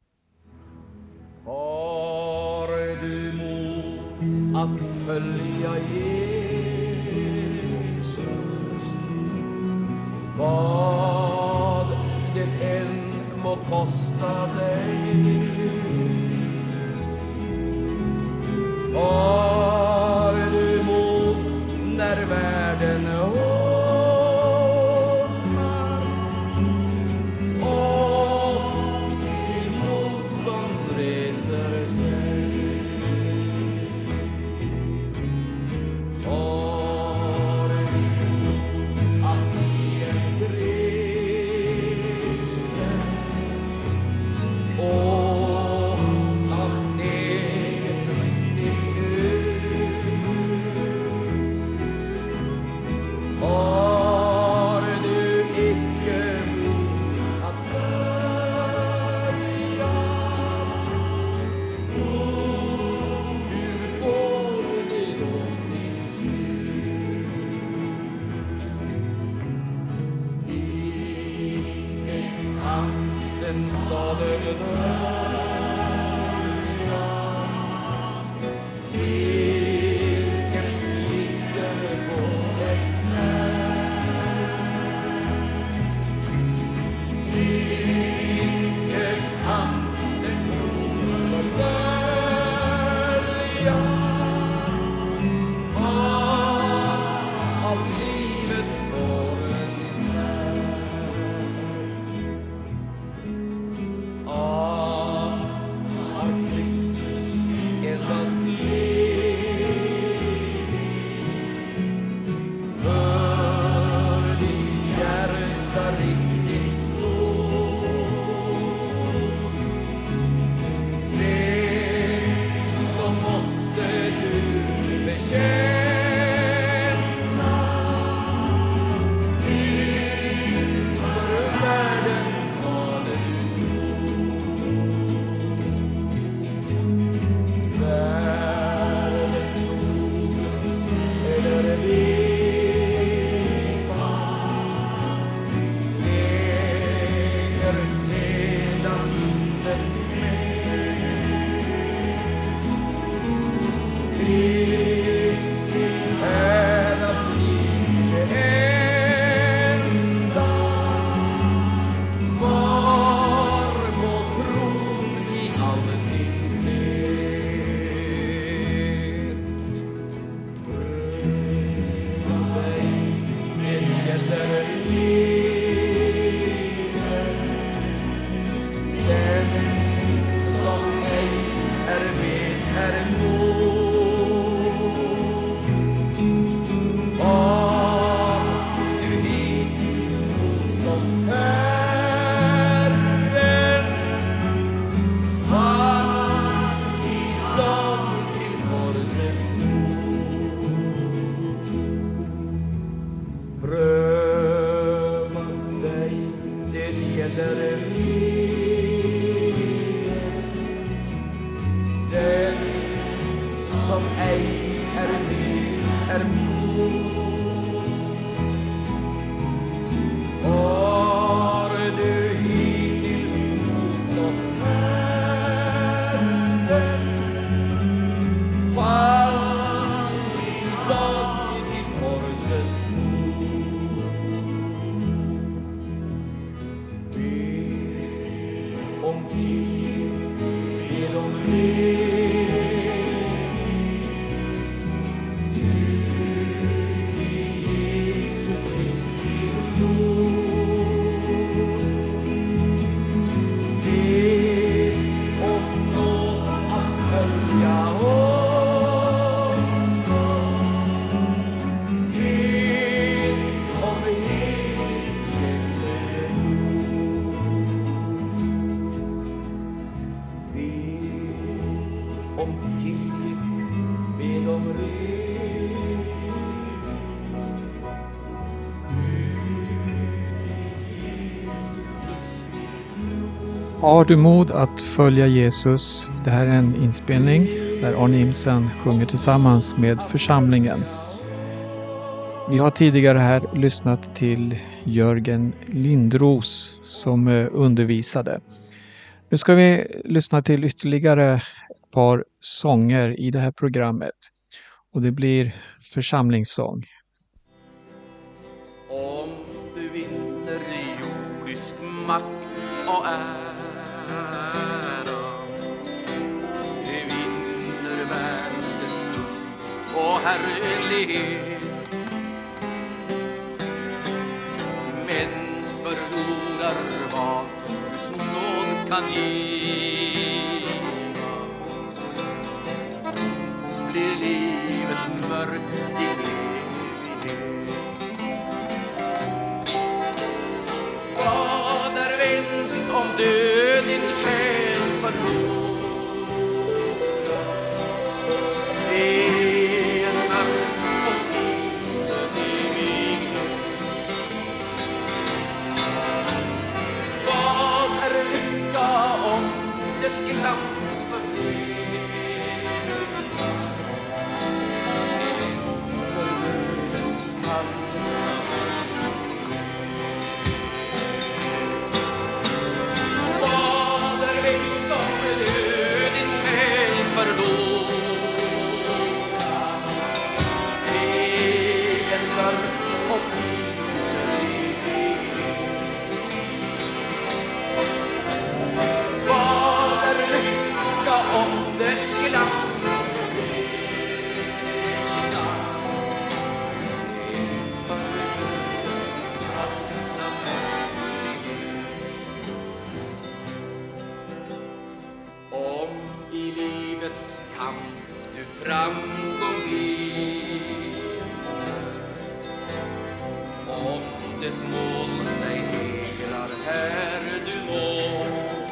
Har du mod att följa Jesus? Vad det än må kosta dig. Har du mod när världen hårdnar och till motstånd reser sig? Har du att bli en kristen och ta steget riktigt ut? Har du icke mod att börja? Hur går det då till slut? Ingen kan den staden röjas, vilken ligger på ett knä. Ingen kan den tron fördöljas, av livet får sin värld. Har Kristus endast blivit för ditt hjärta riktigt stort? Se, då måste du bekänna inför världen vad du världens solens eller leva leker sedan inte med. Kristi är att bli det enda. Var må tron i alltid ser. Pröva dig, det gäller livet. Den som ej är med är emot. Har du hittills motstått Herren? Fall idag till korsets fot. Pröva dig, det gäller livet. Den som ej är med är mot. Har du hittills motstått Herren? Fall idag till korsets fot. tillgift med om ren. Jesu Kristi blod. Be om nåd att följa honom. Be om evig Be om tillgift med om Har du mod att följa Jesus? Det här är en inspelning där Arne Imsen sjunger tillsammans med församlingen. Vi har tidigare här lyssnat till Jörgen Lindros som undervisade. Nu ska vi lyssna till ytterligare ett par sånger i det här programmet. Och det blir församlingssång. Om du vinner jordisk makt och ära, du vinner världens gunst och härlighet, men förlorar vad Guds nåd kan ge, blir livet mörkt i evighet. Vad är vinst om död din själ förlorar? Det är en mörk och tidlös evighet. Vad är lycka om dess glans förblir? För dödens kall. Framgång vinner, om det mål dig hägrar här du må,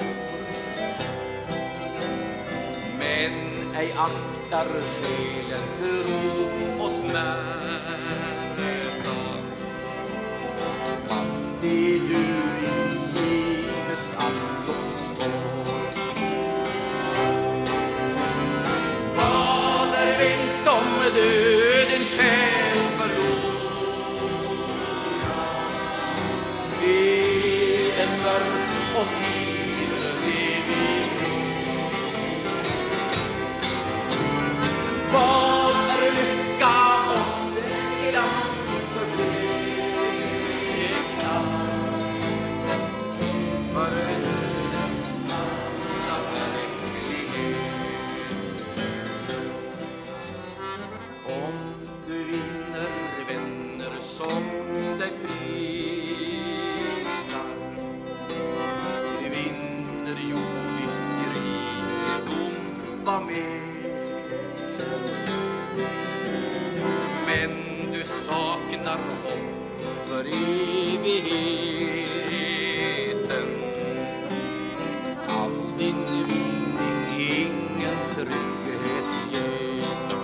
men ej aktar själens ro och smärta. Fattig du i livets afton står, om döden själ förlorar. Det är en mörk och tidlös evighet. Vad är lycka om dess glans förblir klart? För dödens alla verklighet. Om du vinner vänner som dig prisar, du vinner jordisk rikedom, var med. Men du saknar hopp för evigheten. All din vinning ingen trygghet ger.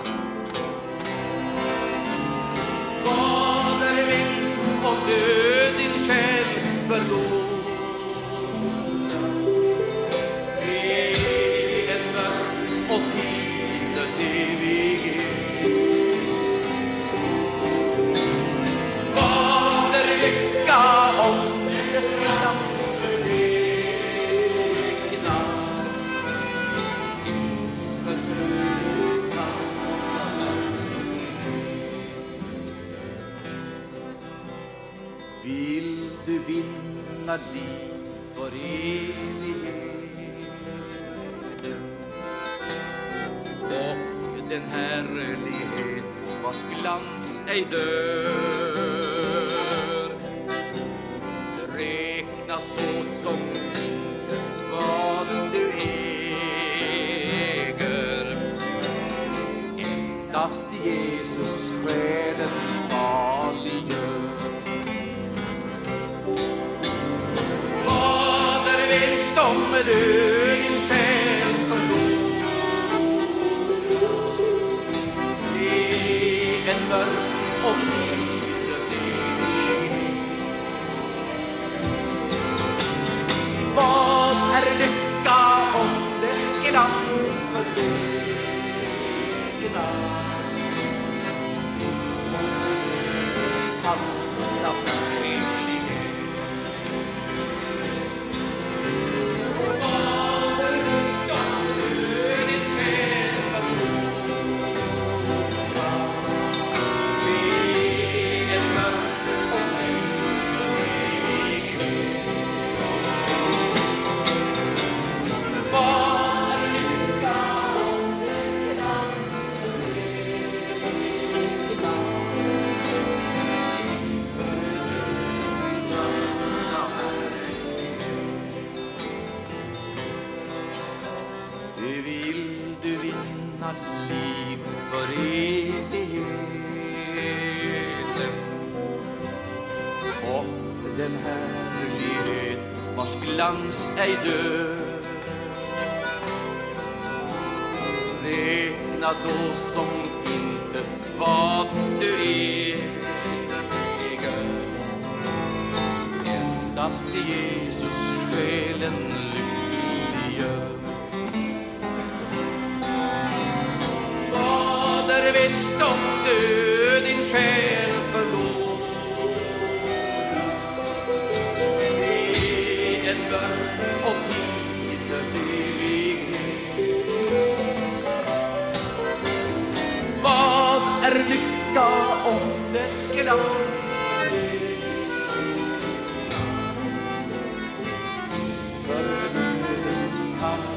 Vad är vinst om död din själ förlorar? Det är en mörk och tidlös evighet. Vad är glans ej dör. Det räknas så som inte vad du äger. Endast Jesus själen saliggör. Vad är vinst om du din själ förlor? En mörk och tidlös evighet. Vad är lycka om dess glans förlorna? Skalla verklighet. Vad är lycka om din själ förlorna? Liv för evigheten och den härlighet vars glans ej dör. Räkna då som intet vad du äger. Endast Jesus själen lyckliggör. Vinst om du din själ förlor. Det är en mörk och tidlös evighet. Vad är lycka om dess glans? För dödens kamp.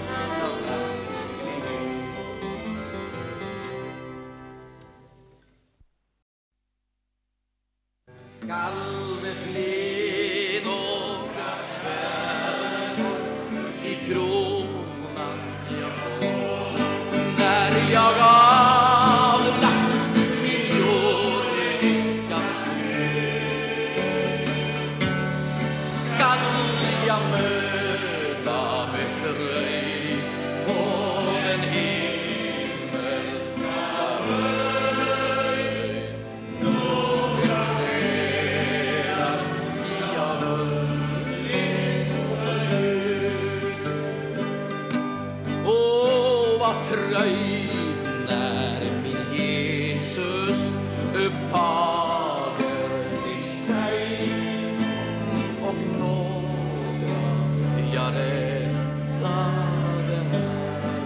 Skall det bli några stjärnor i kronan jag får när jag avlagt min jordiska skuld? Skall jag möta med fröjd på den himmelska fröjd när min Jesus upptager till sig och några jag räddade här.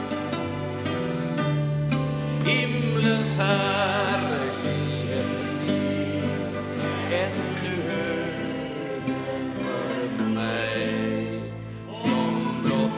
Himlens härlighet blir ännu högre för mig som blott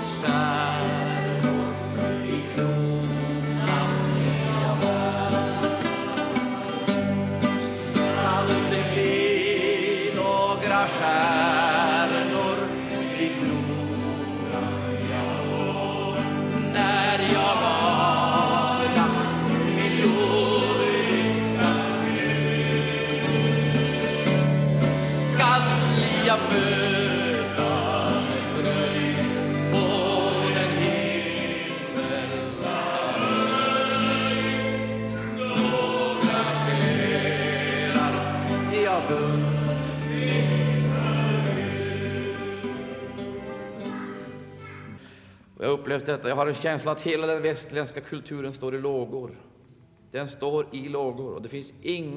stjärnor i kronan jag får när jag avlagt min jordiska skuld. Skall jag möta med fröjd på den himmelska några själar jag vunnit. Jag har upplevt detta. Jag har en känsla att hela den västerländska kulturen står i lågor. Den står i lågor och det finns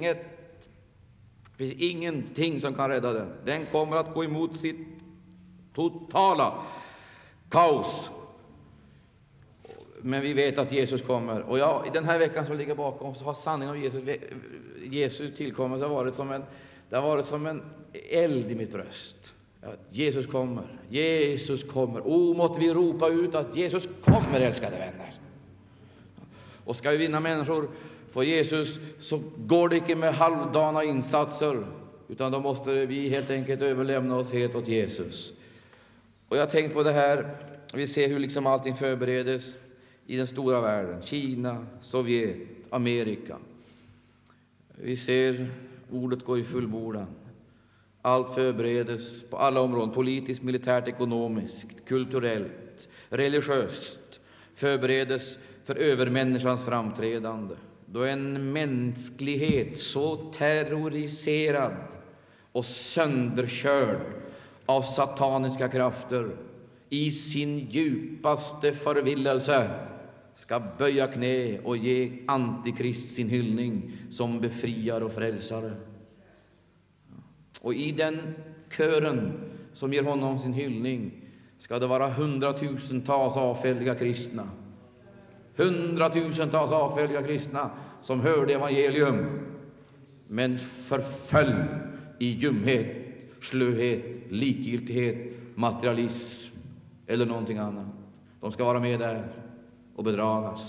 ingenting som kan rädda den. Den kommer att gå emot sitt totala kaos. Men vi vet att Jesus kommer. Och i den här veckan som ligger bakom så har sanningen om Jesu tillkommelse varit som en eld i mitt bröst. Jesus kommer, Jesus kommer. Måtte vi ropa ut att Jesus kommer, älskade vänner. Och ska vi vinna människor För Jesus så går det inte med halvdana insatser, utan då måste vi helt enkelt överlämna oss helt åt Jesus. Och jag har tänkt på det här, vi ser hur liksom allting förberedes i den stora världen. Kina, Sovjet, Amerika. Vi ser ordet går i fullbordan. Allt förberedes på alla områden, politiskt, militärt, ekonomiskt, kulturellt, religiöst. Förberedes för övermänniskans framträdande. Då en mänsklighet så terroriserad och sönderkörd av sataniska krafter i sin djupaste förvillelse ska böja knä och ge Antikrist sin hyllning som befriare och frälsare. Och i den kören som ger honom sin hyllning ska det vara hundratusentals avfälliga kristna. Hundratusentals avfälliga kristna som hörde evangelium men förföll i ljumhet, slöhet, likgiltighet, materialism eller någonting annat. De ska vara med där och bedragas.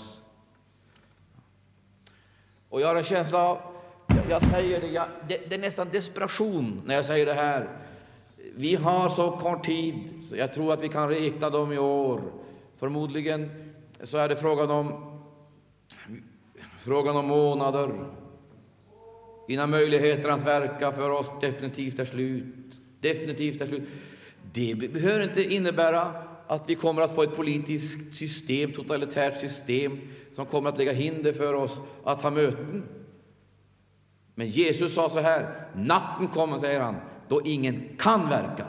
Och jag har en känsla av, jag säger det är nästan desperation när jag säger det här. Vi har så kort tid, så jag tror att vi kan räkna dem i år. Förmodligen så är det frågan om månader innan möjligheter att verka för oss definitivt är slut. Definitivt är slut. Det behöver inte innebära att vi kommer att få ett politiskt system, totalitärt system, som kommer att lägga hinder för oss att ha möten. Men Jesus sa så här: natten kommer, säger han, då ingen kan verka.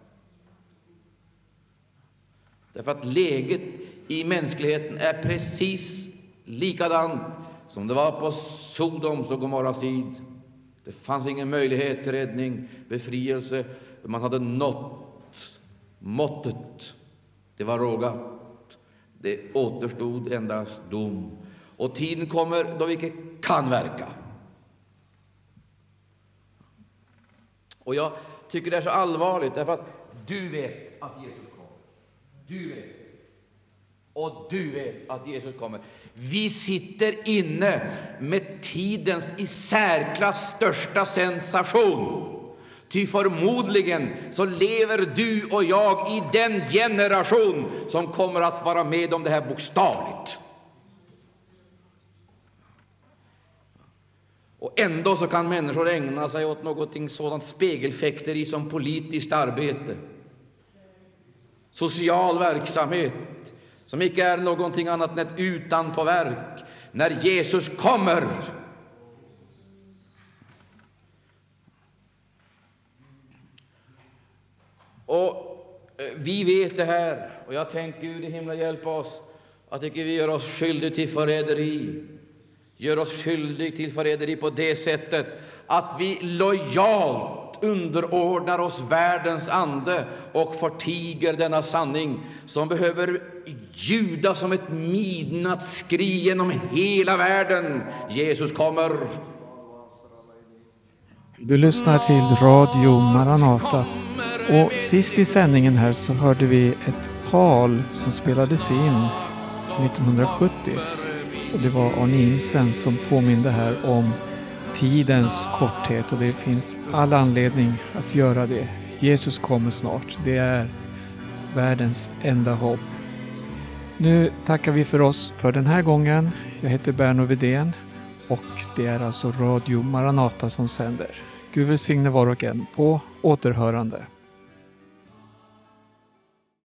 Därför att läget i mänskligheten är precis likadant som det var på Sodoms och Gomorras tid. Det fanns ingen möjlighet till räddning, befrielse. Man hade nått måttet. Det var rågat. Det återstod endast dom. Och tiden kommer då vi inte kan verka. Och jag tycker det är så allvarligt, därför att du vet att Jesus kommer. Du vet. Och du vet att Jesus kommer. Vi sitter inne med tidens i särklass största sensation. Ty förmodligen så lever du och jag i den generation som kommer att vara med om det här bokstavligt. Och ändå så kan människor ägna sig åt någonting sådant spegelfäkteri som politiskt arbete, social verksamhet, som icke är någonting annat än ett utanpåverk när Jesus kommer. Och vi vet det här, och jag tänker Gud i himla hjälpa oss att icke vi gör oss skyldiga till förräderi. Gör oss skyldiga till förräderi på det sättet att vi lojalt underordnar oss världens ande och förtiger denna sanning som behöver ljuda som ett midnattsskri genom hela världen. Jesus kommer. Du lyssnar till Radio Maranata, och sist i sändningen här så hörde vi ett tal som spelades in 1970. Och det var Arne Imsen som påminde här om tidens korthet, och det finns all anledning att göra det. Jesus kommer snart. Det är världens enda hopp. Nu tackar vi för oss för den här gången. Jag heter Berno Widén och det är alltså Radio Maranata som sänder. Gud välsigne var och en. På återhörande.